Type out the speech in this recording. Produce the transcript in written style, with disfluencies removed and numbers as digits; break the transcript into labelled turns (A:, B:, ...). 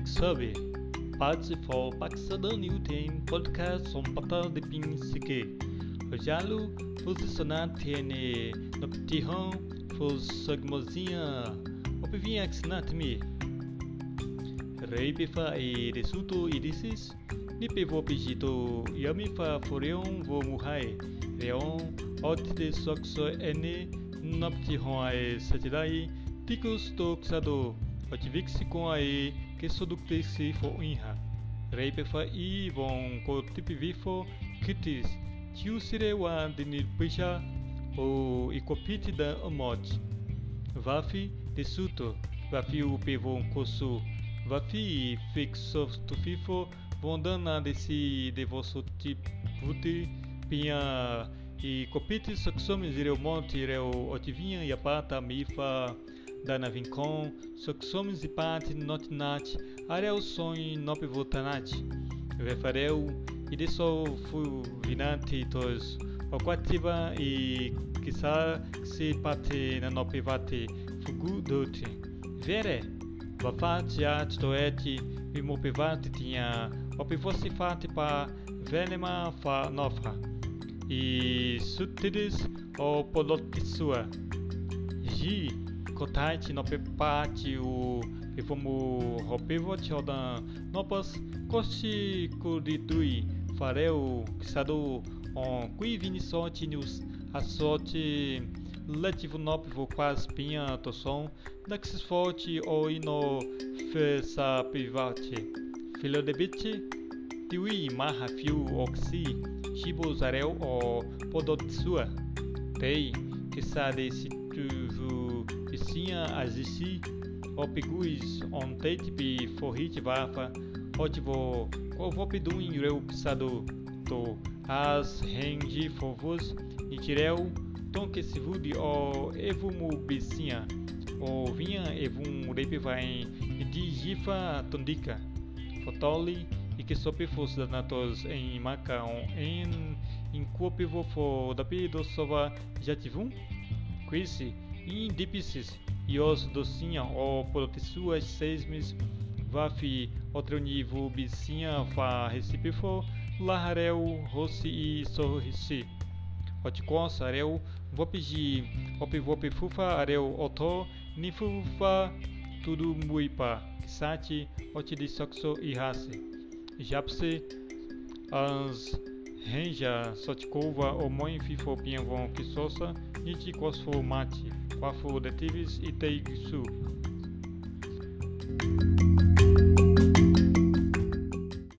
A: Sabe, parte for Pakistan New Team podcast som pata de ping sike. Jalu posicionar tiene no petihon fos sagmozinha opivinha axnatmi. Reibefa e resuto irisis ni pevo pejito yami fa foreon vo muhai reon otte sokso ene no petihon ai satidai ticos toxado otivixi com ai que sodukteisi fo inha. Reibefa e von ko tipivifo kitis tiusire wa dinir pisha o ikopiti da amot. Vafi de suto, vafi o pevon kosu, vafi fixo tufifo vondana desi de vosso tiputi pinha e copiti saxomes ireu monte ireu otivinha e apata mifa dana vincon saxomes e pati notinat areu sonho nope votanat vefareu e de sol fu vinante tos aquativa e quizá se pate na nope vate fugu dote vere vafate at toeti e mopevate tinha opivossi fate pa venema fa nofra e sutides o polotisua ji kotaiti nope pati o evomu ropevote odan nopas koshi kuridui fareu kisado on qui vinisote news asote letivo nope vo quas pinha toson daxis forte o ino fesa private filo de biche tiwi maha fiu oxi shibozarel o podotsua tei que sade se tu vicinha azisi o piguis on teitipi forrit vafa otivo o vopiduin reu pisado to as rengi fovos e tireu tom que se vudi o evumu bicinha o vinha evum repivain e digifa tondika fotoli e que sopifos danatos em maca em copivo fo dapi do sova jativum quisi in dipisis e os docinha o protesuas seismes vafi outro nível bicinha fa recipifo lahareu rossi e sorrisi otconsa areu vopiji opivopi fufa areu oto nifufa tudo muipa kisati otidisoxo e race japse ans renja sotkova o mãe fifo pinvon kisosa niti kosfo mati quafo detivis e teigsu